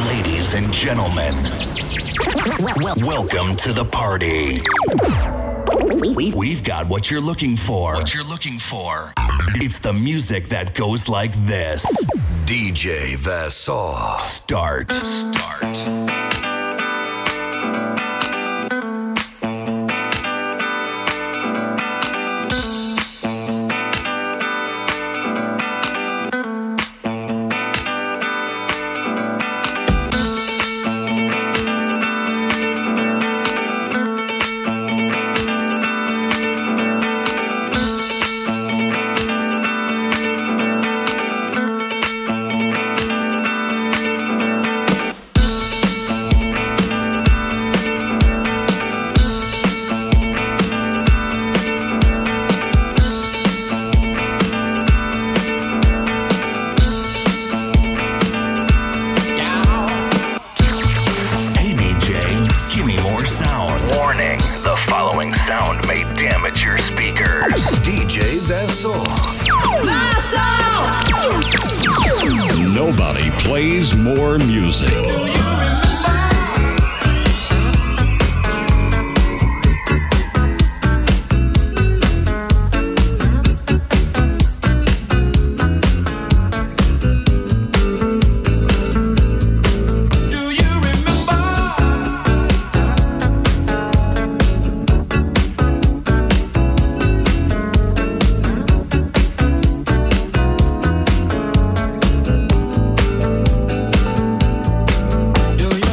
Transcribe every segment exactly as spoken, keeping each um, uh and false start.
Ladies and gentlemen, welcome to the party. We've got what you're looking for. What you're looking for. It's the music that goes like this. D J Vassar. Start. Start. Nobody plays more music. Do you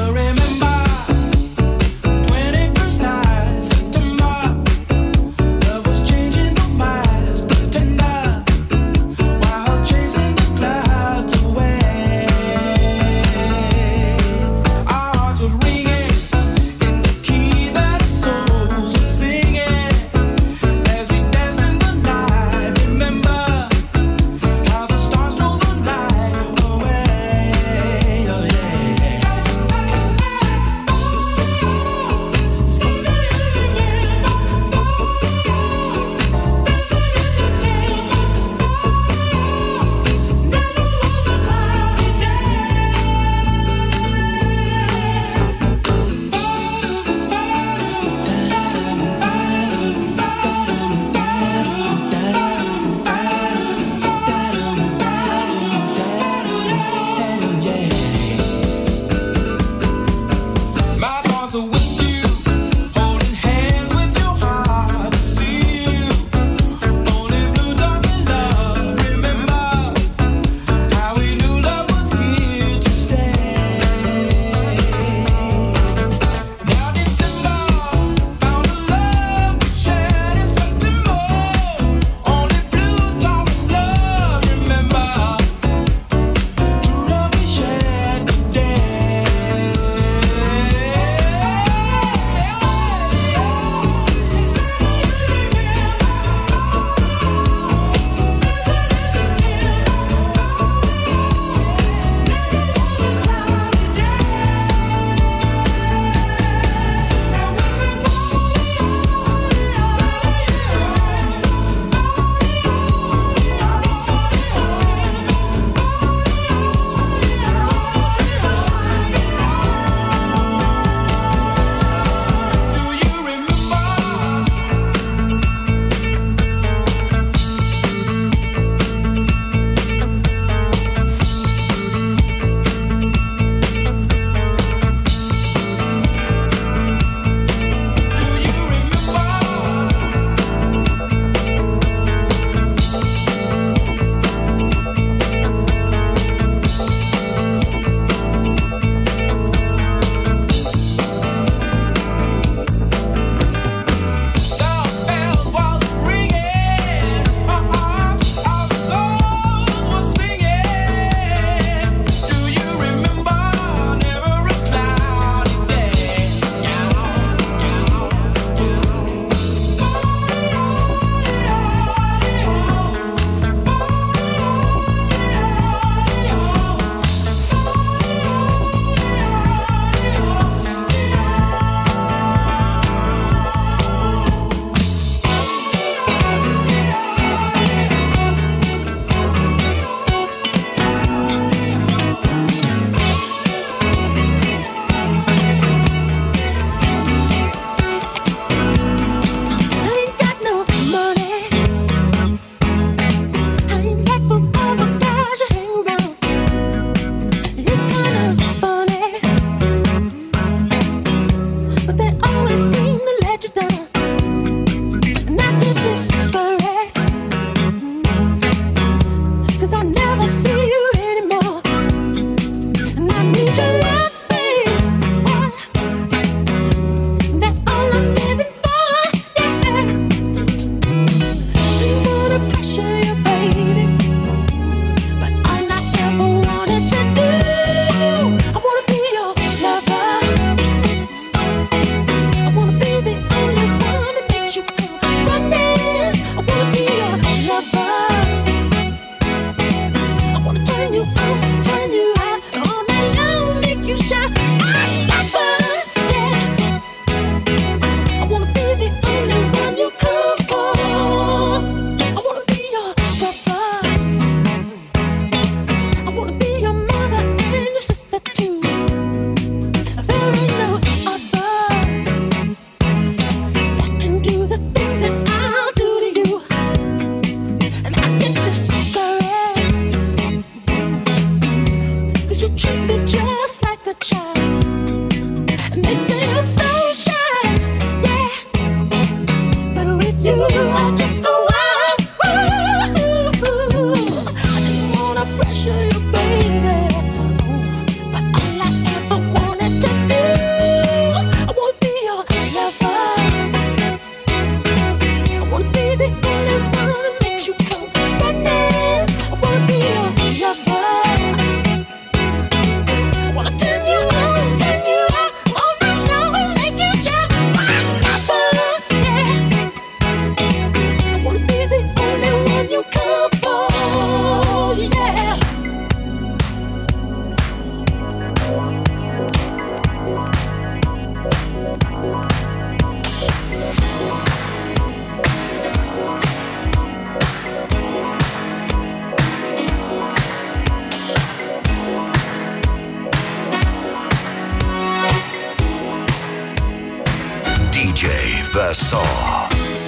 Versaw.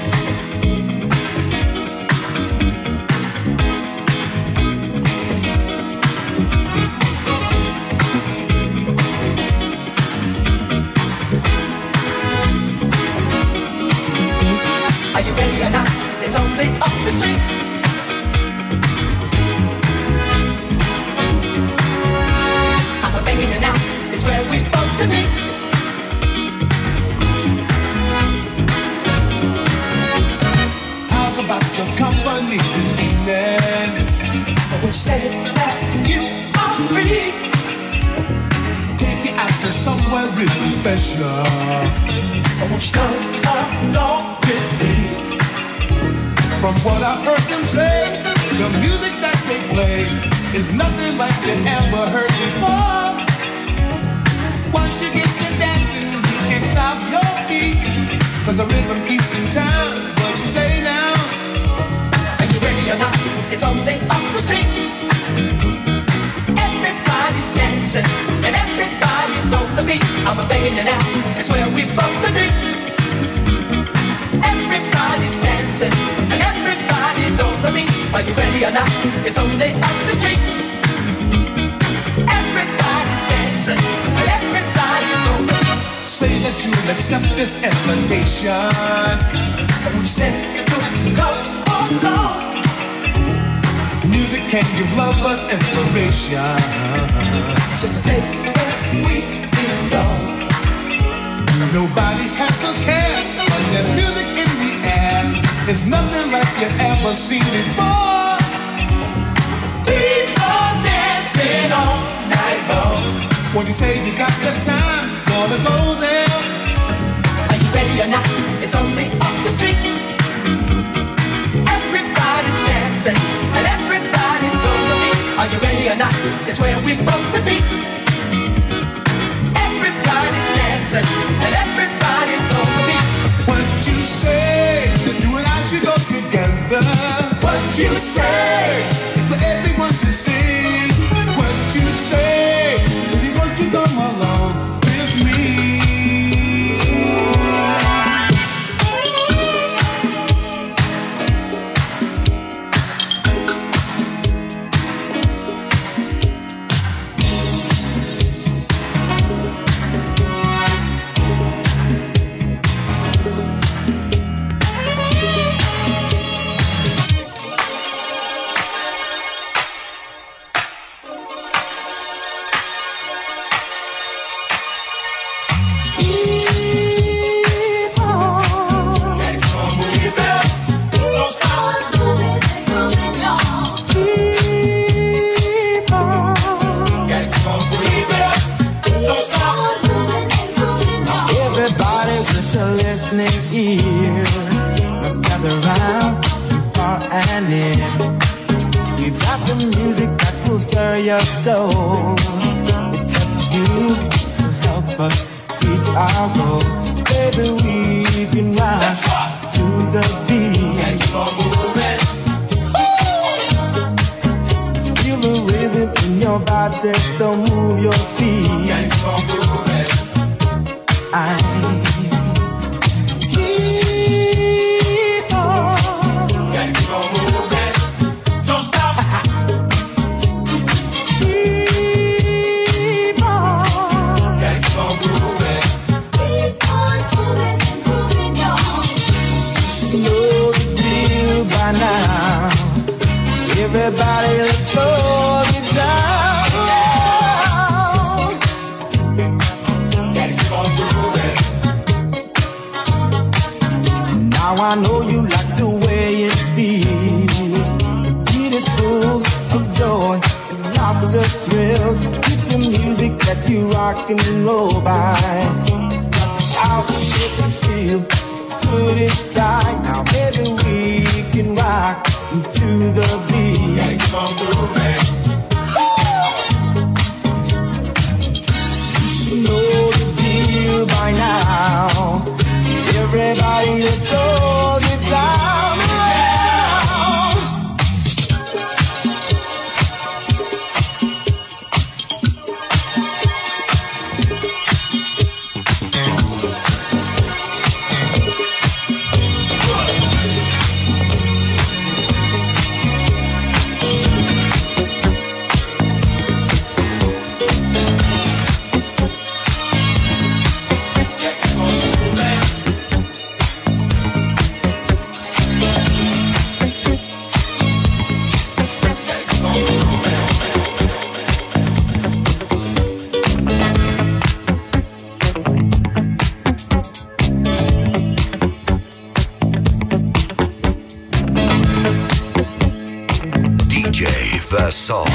Are you ready or not? It's only up the street. I'm a banging you now. It's where we both to meet. About your company this evening. I would say that you are free. Take you out to somewhere really special. I want you to come along with me. From what I heard them say, the music that they play is nothing like you ever heard before. Once you get to dancing, you can't stop your feet, 'cause the rhythm keeps in time. What you say now? Ready or not, it's only up the street. Everybody's dancing and everybody's on the beat. I'm a begging you now, it's where we both to be. Everybody's dancing and everybody's on the beat. Are you ready or not? It's only up the street. Everybody's dancing and everybody's on the beat. Say that you'll accept this invitation. I would say you come along. Music can give lovers inspiration. It's just a place where we belong. Nobody has a care, but there's music in the air. It's nothing like you ever seen before. People dancing all night long. What you say, you got the time, wanna go there? Are you ready or not? It's only up the street. Everybody's dancing and everybody's on the beat. Are you ready or not? It's where we both to be. Everybody's dancing and everybody's on the beat. What you say, you and I should go together. What you say, it's for everyone to see. What you say, baby, won't you come along with me? Your soul, it's up to you to help us reach our goal. Baby, we can rock to the beat. can you go moving? Feel the rhythm in your body, so move your feet. Can you go moving? I keep on. Can you go moving? Don't stop. I know you like the way it feels. The beat is full of joy and lots of thrills. Keep the music that you rock and roll by. Shout, shake and feel good inside. Now baby we can rock to the beat. Gotta keep on moving. You should know the deal by now. Everybody that's all the time around. Song.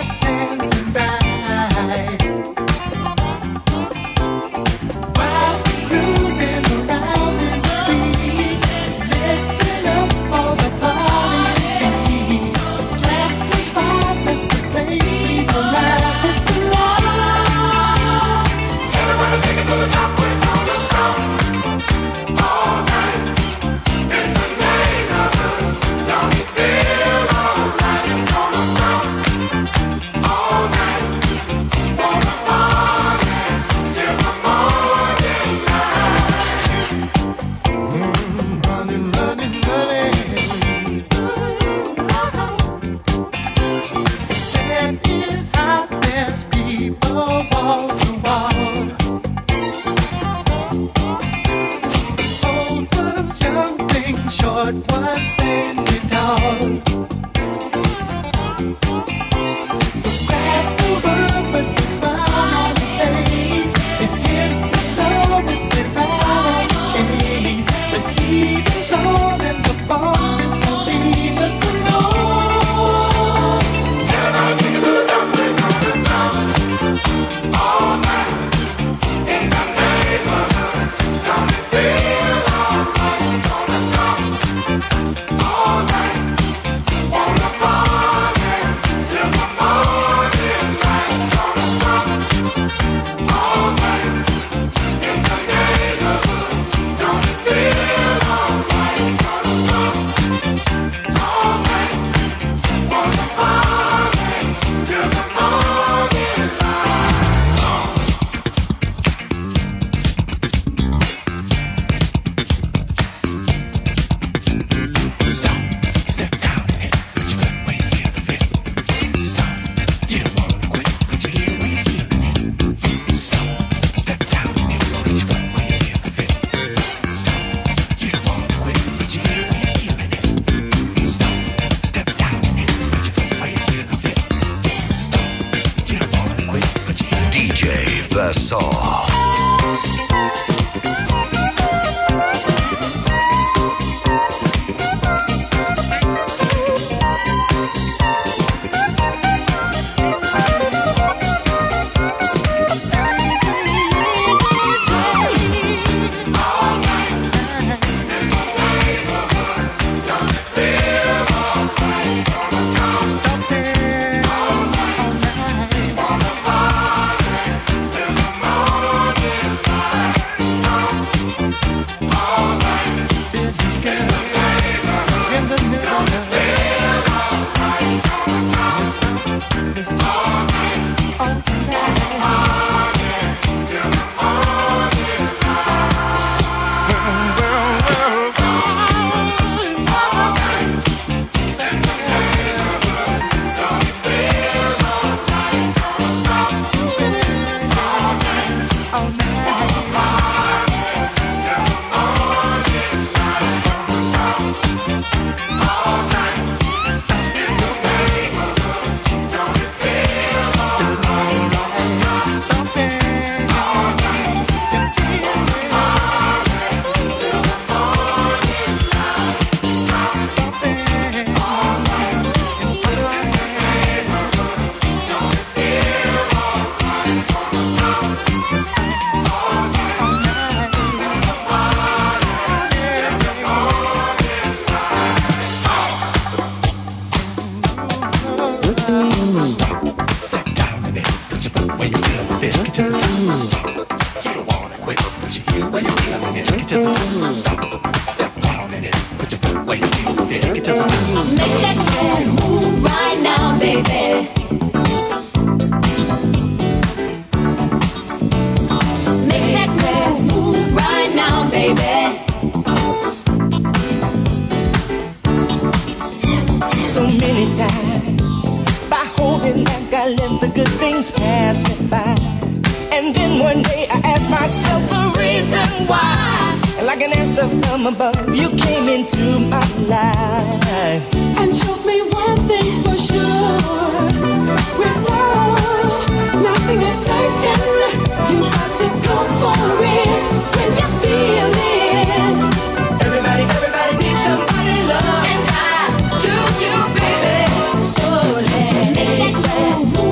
Make that move.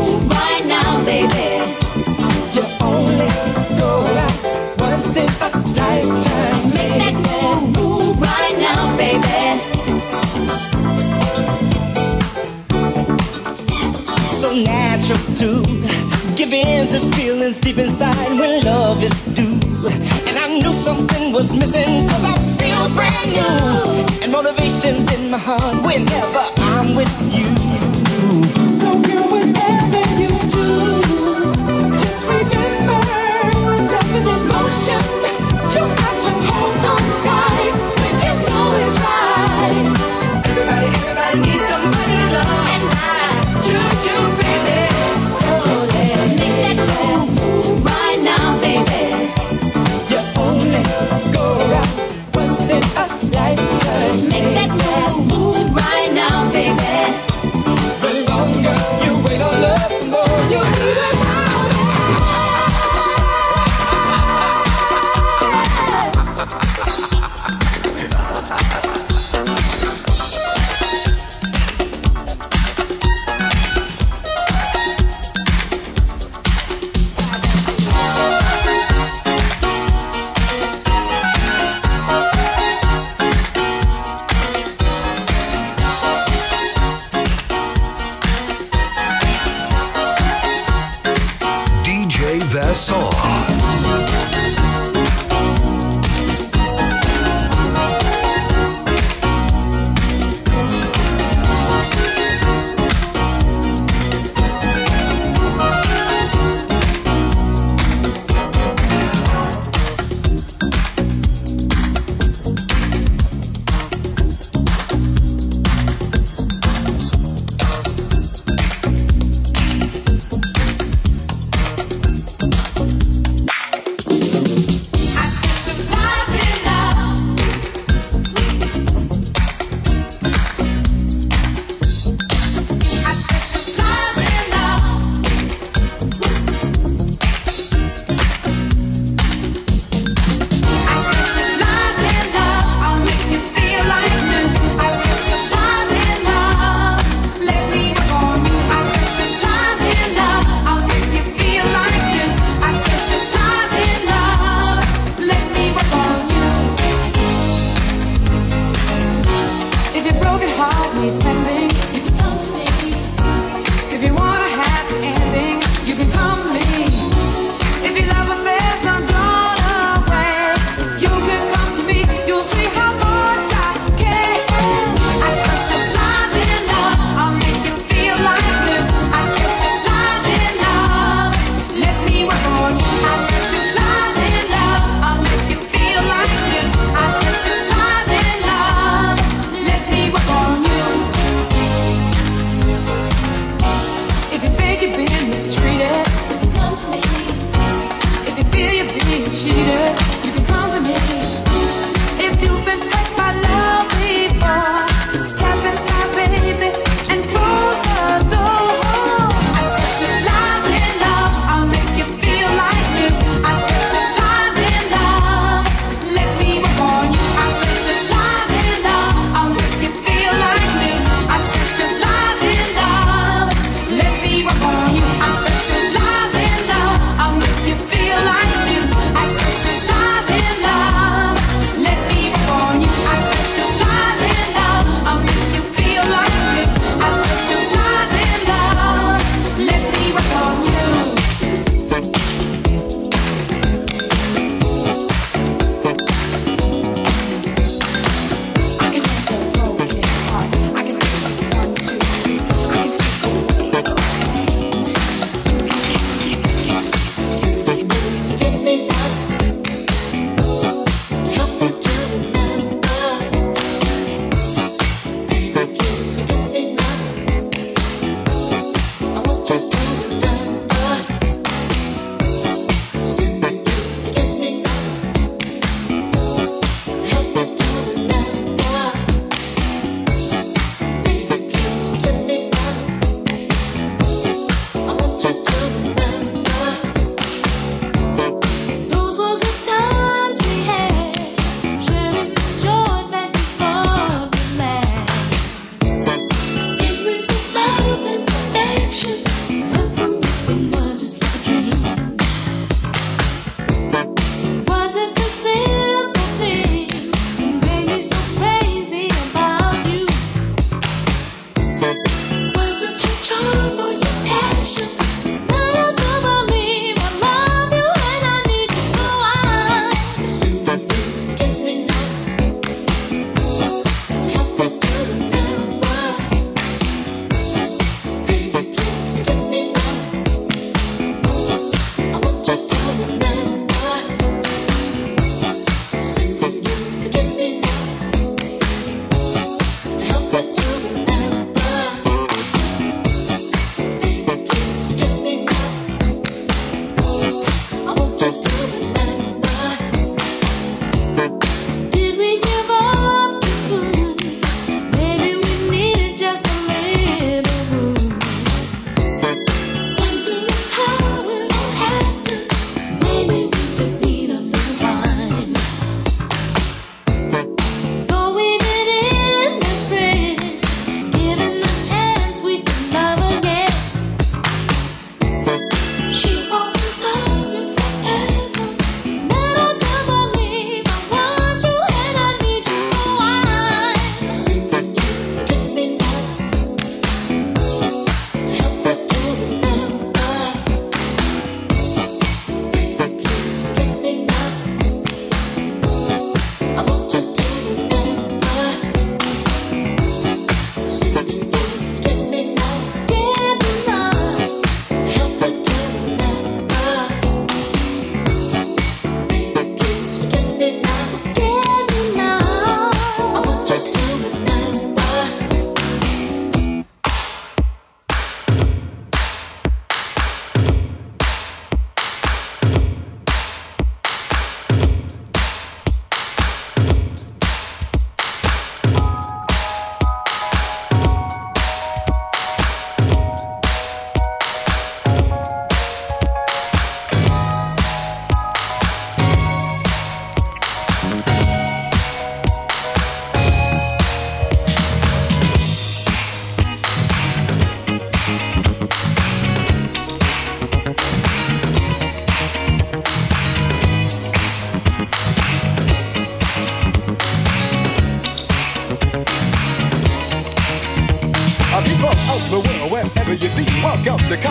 to give in to feelings deep inside when love is due. And I knew something was missing, cause I feel brand new, and motivation's in my heart whenever I'm with you. So girl, whatever you do, just remember, love is in motion. You got to hold on tight when you know it's right. Everybody, everybody needs somebody to love, and I choose you, baby. So let's make that move right now, baby. You only go around once in a lifetime. Make that move right now, baby. The longer you wait on love, the more you need it.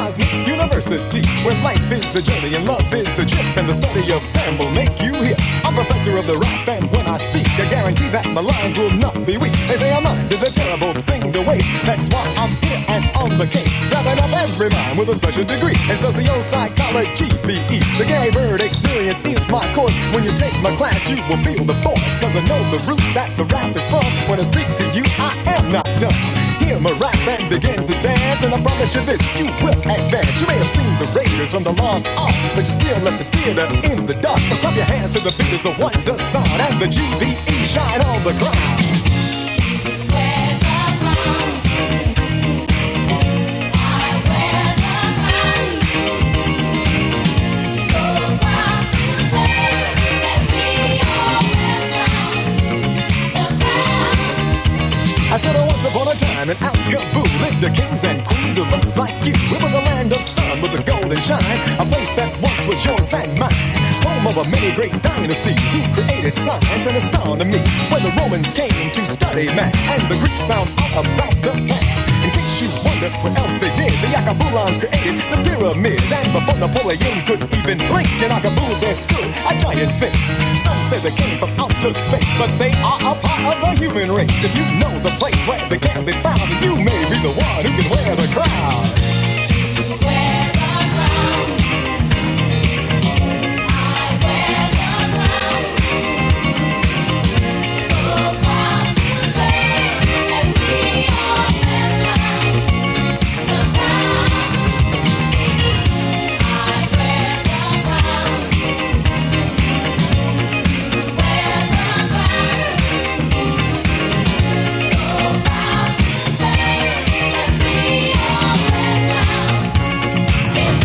Cosmic University, where life is the journey and love is the trip, and the study of them will make you hip. I'm professor of the rap, and when I speak, I guarantee that my lines will not be weak. They say a mind is a terrible thing to waste. That's why I'm here and on the case, wrapping up every mind with a special degree in socio-psychology, B E. The Gary Bird experience is my course. When you take my class, you will feel the force, cause I know the roots that the rap is from. When I speak to you, I am not done. Hear my rap and begin to dance, and I promise you this, you will advance. You may have seen the Raiders from the Lost Ark, but you still left the theater in the dark. So clap your hands to the beat as the wonder sound, and the G B E shine on the ground. I said oh, once upon a time in Al-Kaboo lived the kings and queens who looked like you. It was a land of sun with a golden shine, a place that once was yours and mine. Home of a many great dynasties who created science and astronomy. When the Romans came to study math and the Greeks found out about the path. In case you wonder what else they did, the Akabulans created the pyramids. And before Napoleon could even blink, in Akabul there stood a giant sphinx. Some say they came from outer space, but they are a part of the human race. If you know the place where they can be found, you may be the one who can wear the crown. Wear the crown. I wear the crown. So proud to say that we all wear the crown. I wear the crown. You wear the crown. So proud to say that we all wear the crown. In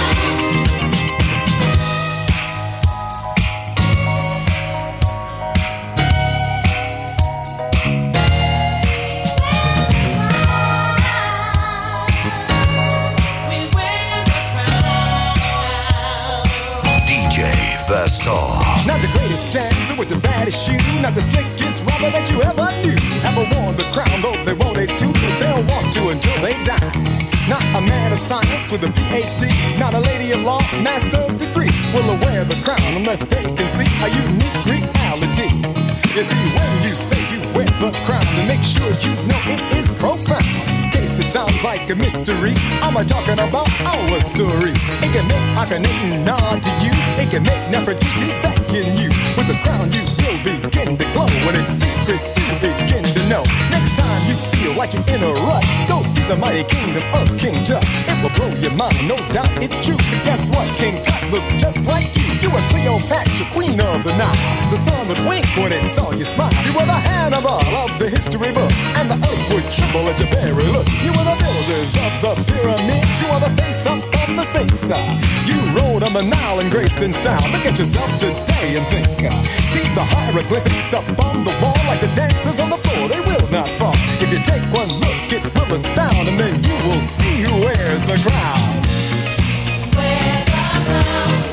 D J Vassar. Not the greatest dancer with the baddest shoe, not the slickest rapper that you ever knew. Ever worn the crown, though they wanted to, but they'll want to until they die. Not a man of science with a P H D, not a lady of law, master's degree will wear the crown unless they can see a unique reality. You see, when you say you wear the crown, then make sure you know it is profound. In case it sounds like a mystery, I'm a talking about our story. It can make Akhenaten nod to you, it can make Nefertiti beckon you. With the crown you will begin to glow, when it's secret you begin to know. Next time you feel like you're in a rut, go see the mighty kingdom of King Tut. It will blow your mind, no doubt it's true, cause guess what? King Tut looks just like you. You were Cleopatra, queen of the Nile. The sun would wink when it saw you smile. You were the Hannibal of the history book, and the earth would tremble at your very look. You were the builders of the pyramids, you are the face up of the Sphinx. You rode on the Nile in grace and style. Look at yourself today and think. See the hieroglyphics up on the wall, like the dancers on the floor, they will not fall. If you take one look, it will astound, and then you will see who wears the crown. Wear the crown.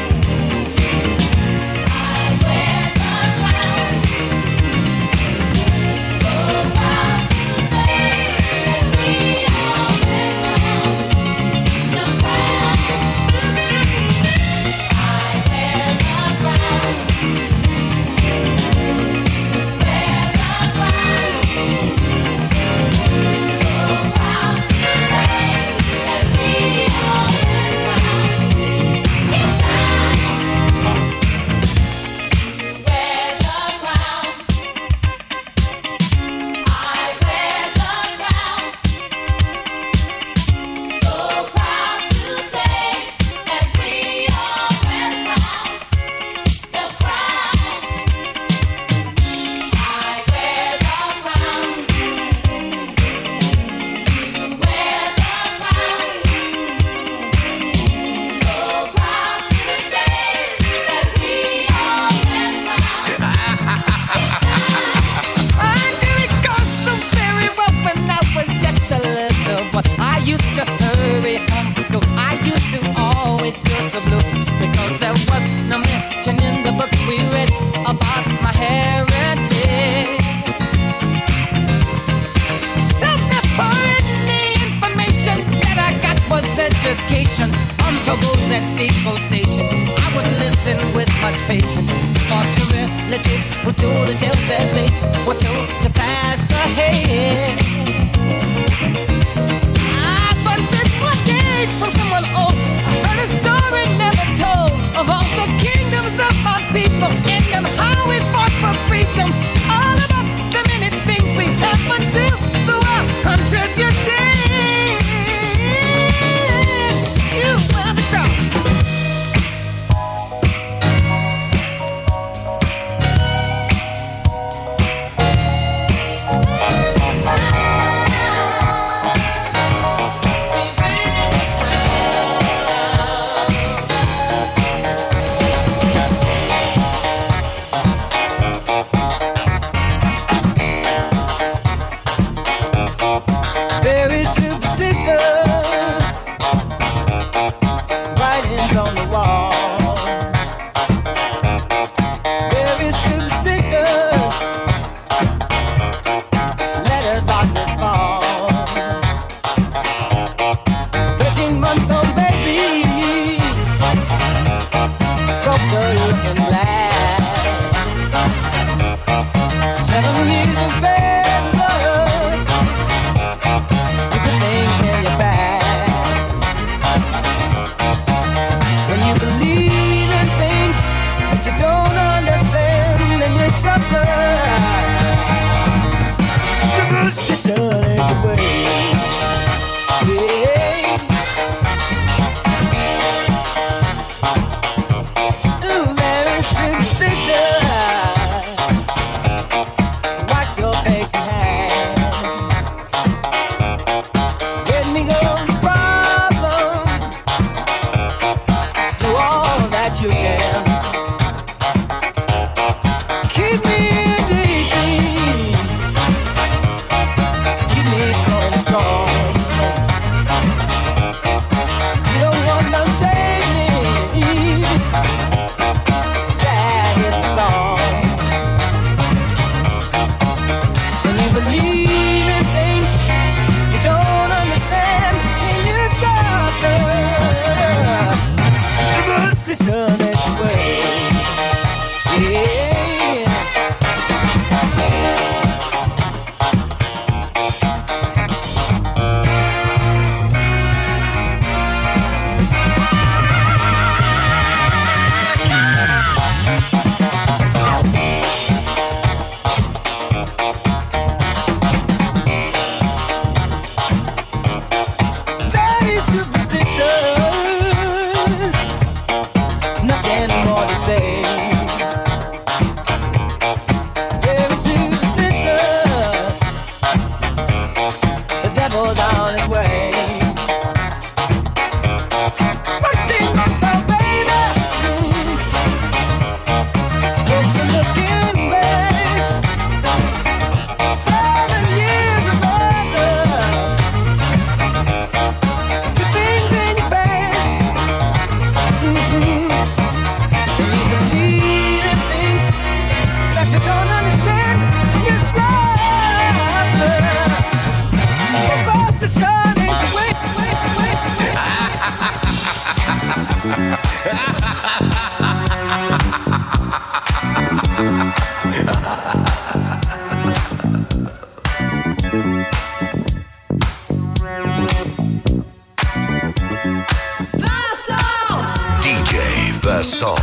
I wear the crown. So proud to say that we all wear the crown. I wear the crown. You wear the crown. So proud to say that we all wear the crown. In time. You wear the crown. I wear the crown. So proud to say that we all wear the crown. The crown. I wear the crown. You wear the crown. So proud to say that we all wear the crown. Under it goes so very well when I was just a little boy. I used to hurry home from school. I used to always feel so blue because there was no mention in the books we read about my heritage. So the foreign information that I got was education. at depot stations, I would listen with much patience. For to relatives who told the tales that they were told to pass ahead. I but then one day from someone old, I heard a story never told of all the kingdoms of my people and of how we fought for freedom. All about the many things we have but two through our contributing. You were the crowd. Very superstitious writings on the wall. Very superstitious letters about to fall. Thirteen month old baby broke the looking glass. Seven years of bad blood. Things in your past. When you believe in things that you don't understand, then you suffer. Superstition ain't the way. Yeah. Ooh, very superstitious. Wash your face and hands. Let me go the problem. Do all that you can. Keep me in deep. Keep me going strong. You don't want no saving. Sad is the song. When you believe in things you don't understand, and you suffer. Superstition is the way. Yeah. Very superstitious. Nothing more to say. Very superstitious. The devil's on his way. Thirteen months old baby. Broke the looking glass. Seven years of love. The things in your past. Mm-hmm. And you believe in things that you don't understand. You suffer. Superstition ain't the way. D J Vassaw.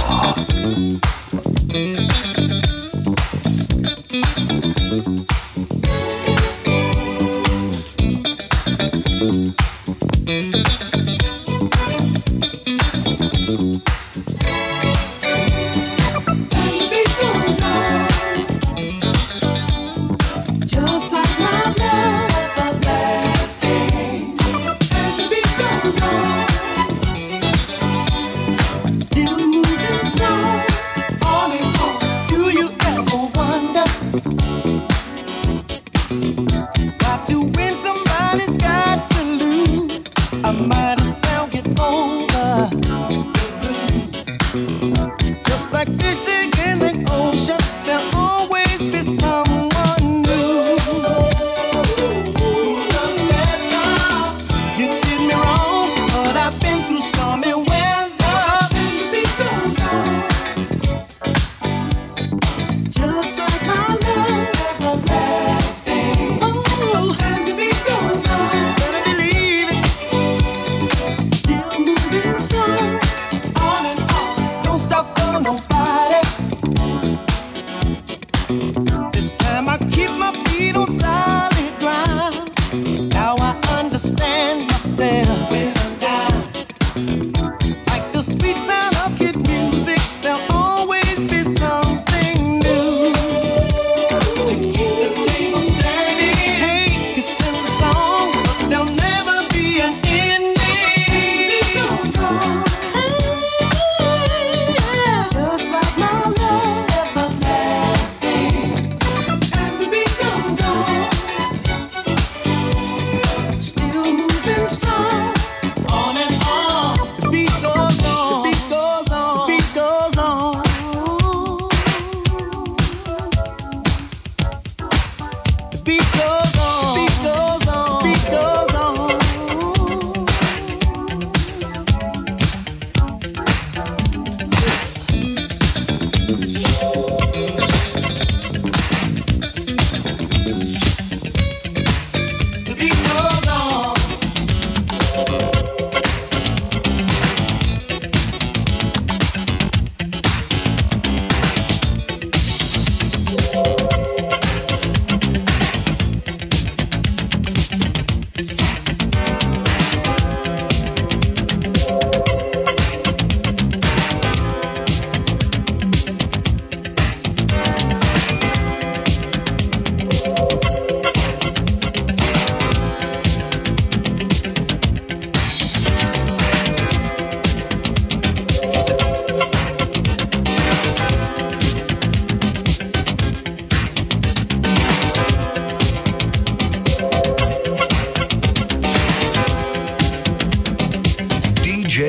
Just like my love, everlasting. And the beat goes on. Still moving strong, on and on. Do you ever wonder? Got to win, somebody's got to lose. I might as well get over the blues. Just like fishing in the ocean, there'll always be someone new. Who does better? You did me wrong, but I've been through stormy weather.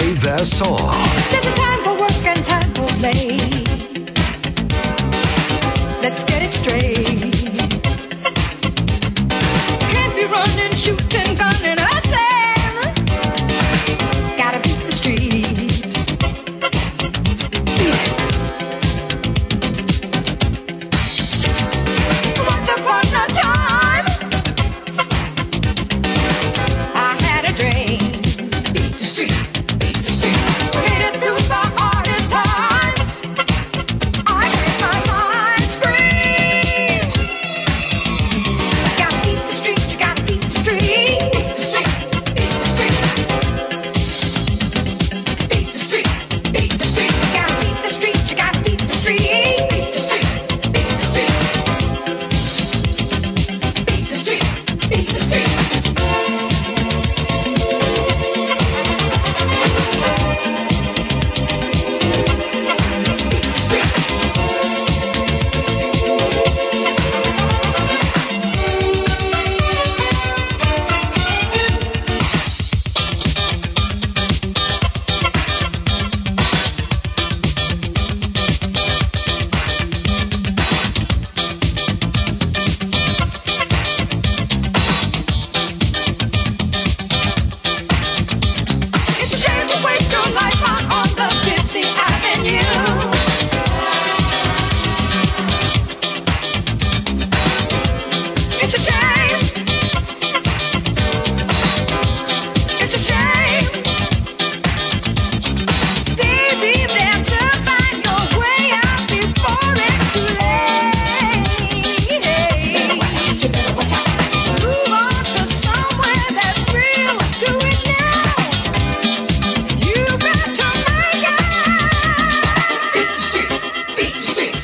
Vassaw. There's a time for work and time for play. Let's get it straight. Can't be running, shooting, gunning, hustling. Gotta beat the street. Once upon a time, I had a dream. Beat the street, beat the street. Made it through the hardest times. I heard my mind scream. Gotta beat the street, you gotta beat the street. Beat the street, beat the street. Beat the street, beat the street. Gotta beat the street, you gotta beat the street. Beat the street, beat the street. Beat the street, beat the street. It's a shame to waste your life out on the busy avenue. It's a shame. It's a shame. Baby, better find your way out before it's too late. You better watch out. Move on to somewhere that's real. Do it now. You better make it. Beat the street, beat the street.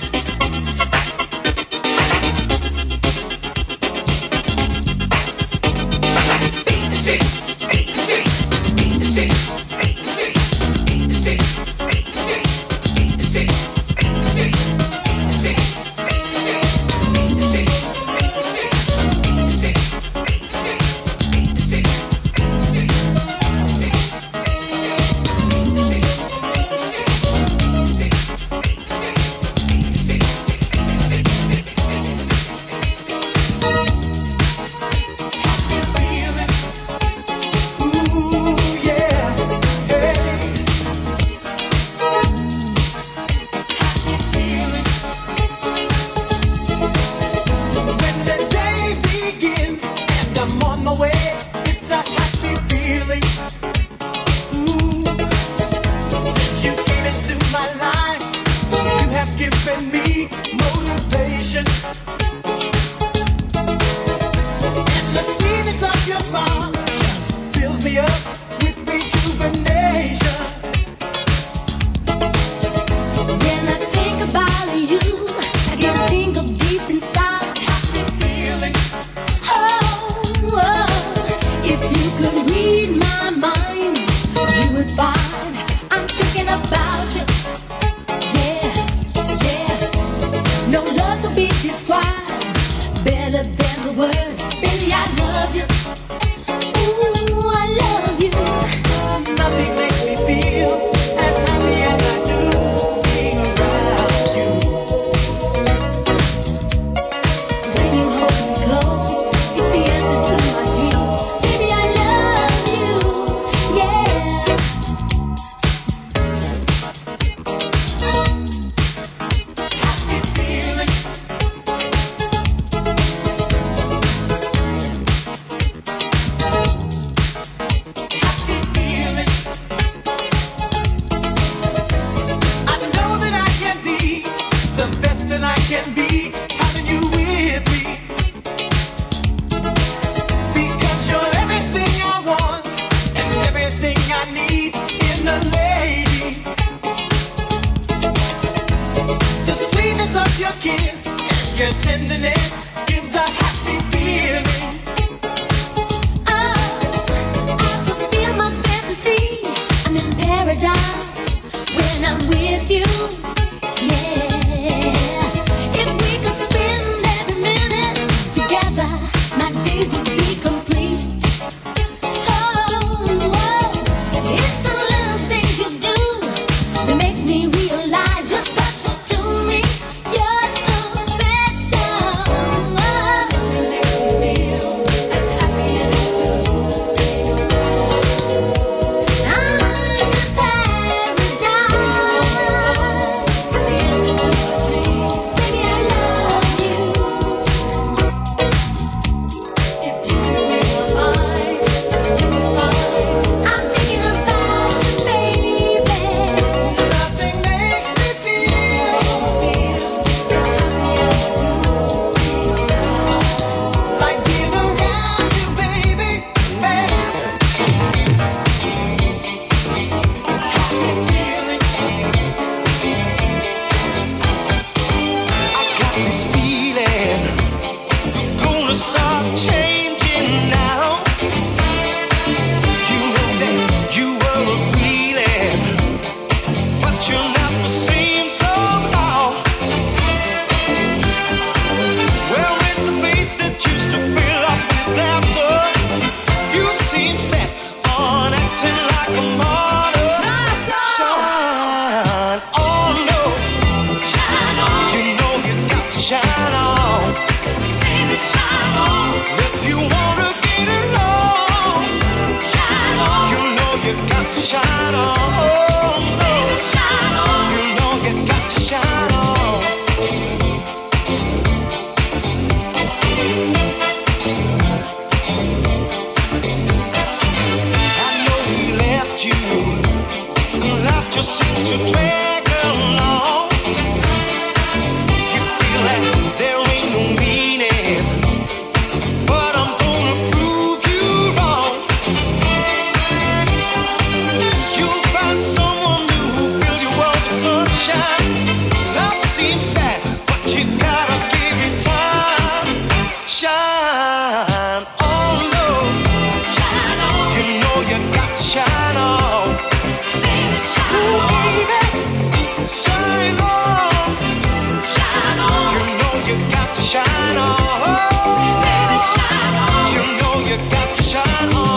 Beat the street, beat the street, beat the street, beat the street, beat the street, beat the street, beat the street, beat the street, beat the street, beat the street, beat the street, beat the street, beat the street, beat the street, beat the street, beat the street, Ooh, yeah, hey. When the day begins and I'm on my way, it's a happy feeling. Ooh, since you came into my life, you have given me motivation. And the sweetness of your smile just fills me up with rejuvenation. When I think about you, I get a tingle deep inside. Happy feeling. Oh, oh, if you could read my mind, you would find I'm thinking about you. Yeah, yeah. No love could be described better than the words. Baby, I love you. Ooh, I love you. Nothing makes me feel as happy as I do being around you. When you hold me close, it's the answer to my dreams. Baby, I love you. Yeah. Happy feeling. Happy feeling. I know that I can be the best that I can be, having you with me. Because you're everything I want and everything I need in a lady. The sweetness of your kiss and your tenderness gives a happy feeling. Oh, I can feel my fantasy. I'm in paradise when I'm with you. Yeah. If we could spend every minute together, my days would be complete. Oh, oh, it's the little things just seems to drag along. You feel that there ain't no meaning, but I'm gonna prove you wrong. You'll find someone new who'll fill your world with sunshine. Life seems sad, but you gotta give it time. Shine on, Lord. You know you got to shine on. Ooh, baby. Shine on. You know you got to shine on. You know you got to shine on.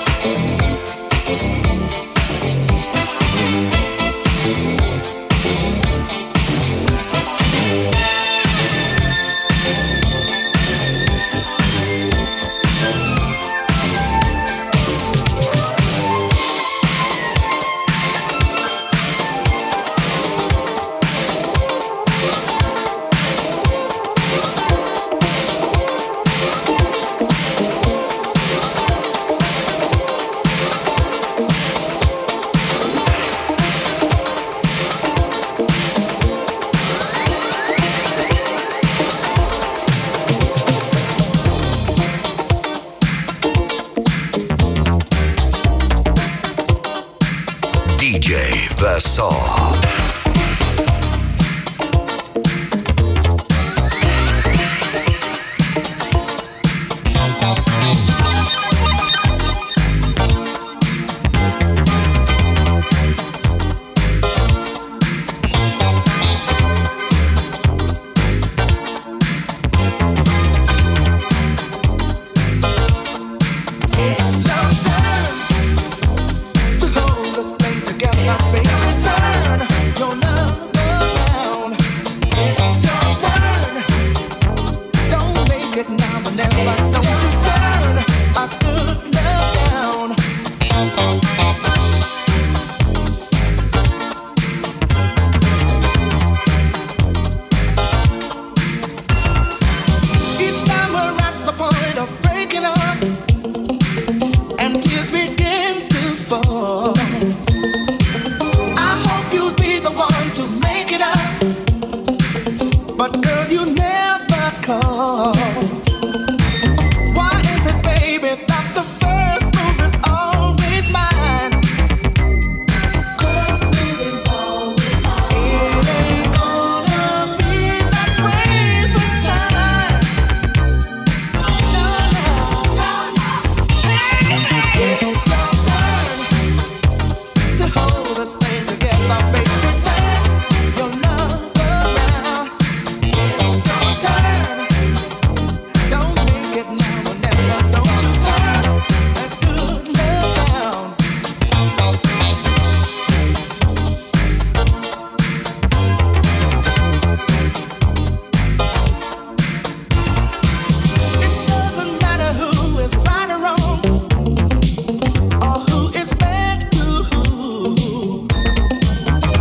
D J Vassaw. It's your turn to hold this thing together, baby. Turn your love around. It's your turn. Don't make it now or never. Don't you turn a good love down. Each time we're at the point of breaking up and tears begin to fall, I hope you'll be the one to make it up. But girl, you never call. Why is it, baby, that the first move is always mine? First move is always mine. It ain't gonna be that way this time. No, no, no, no. It's your turn to hold this thing together, baby. Turn your love around. It's your turn. Don't make it now or never. Don't you turn that good love down. It doesn't matter who is right or wrong, or who is bad to who.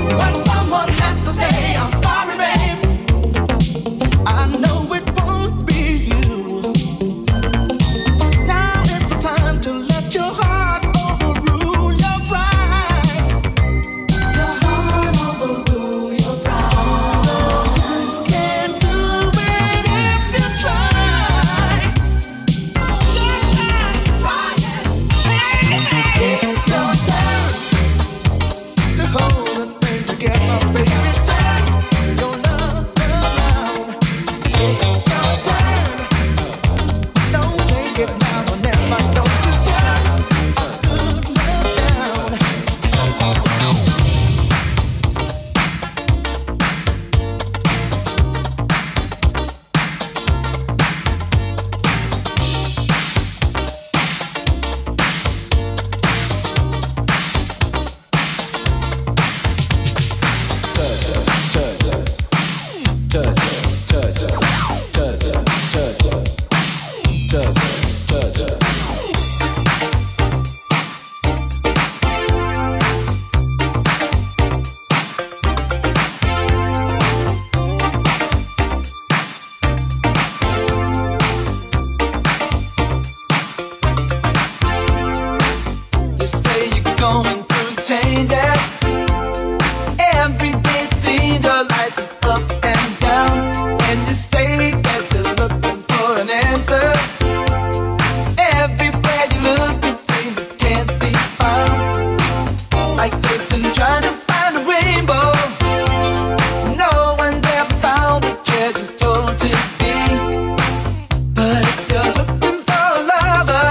Every day it seems your life is up and down, and you say that you're looking for an answer. Everywhere you look, it seems it can't be found. Like searching, trying to find a rainbow. No one's ever found the treasure's told to be. But if you're looking for a lover,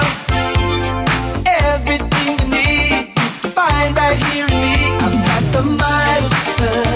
everything you need you can find right here in me. I've got the Midas touch.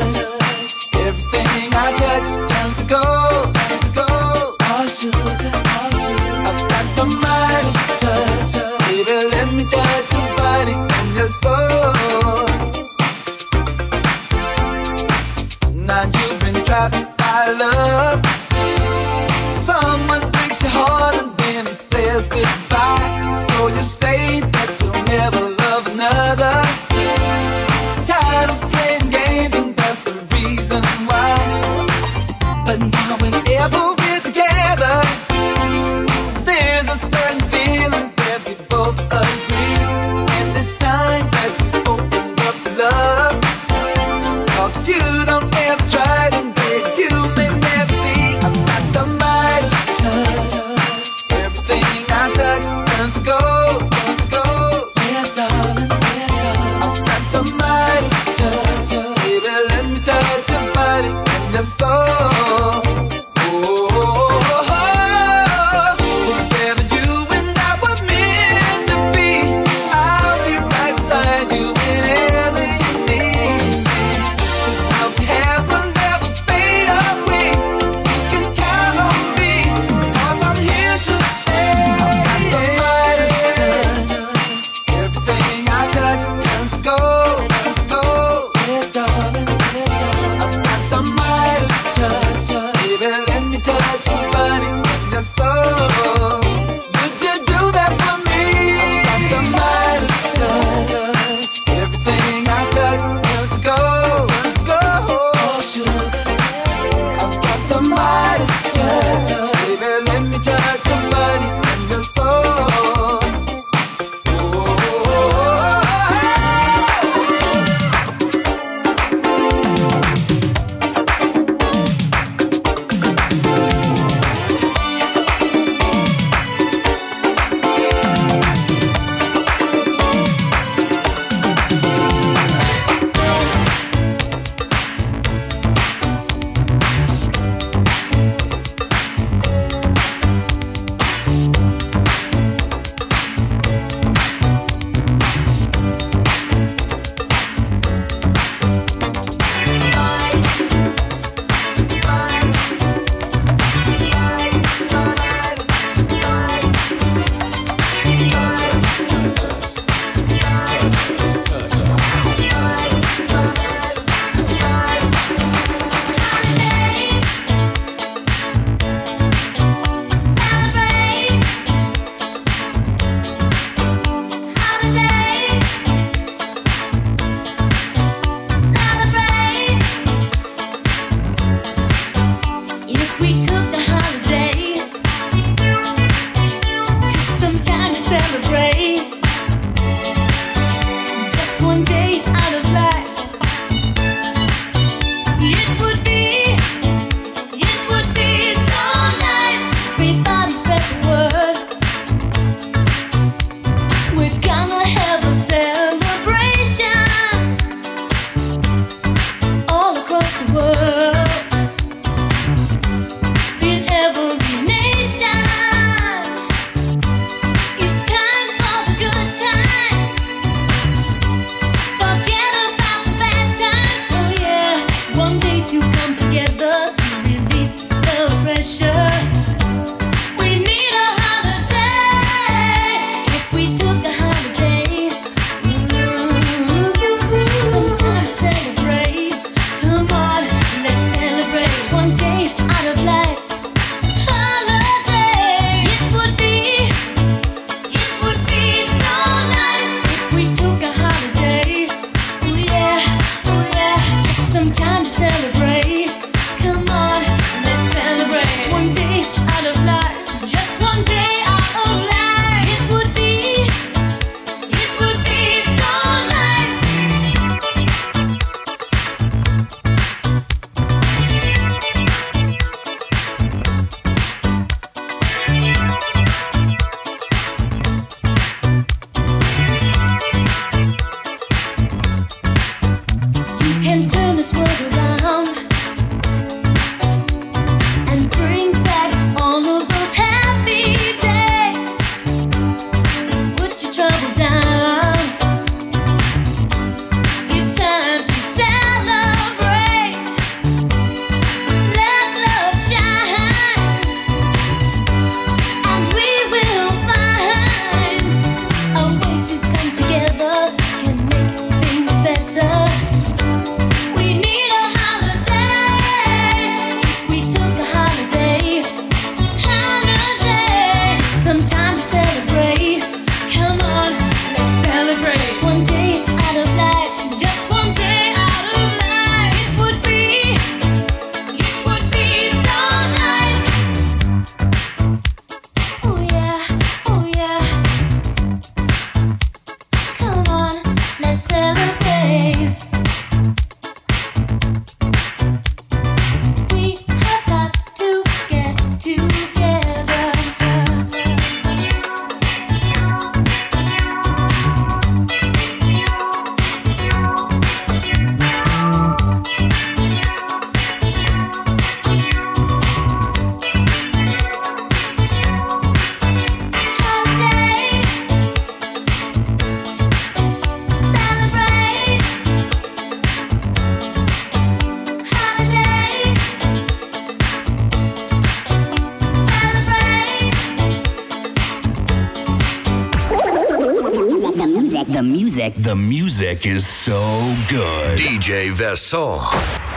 music. The music is so good. D J Vesson.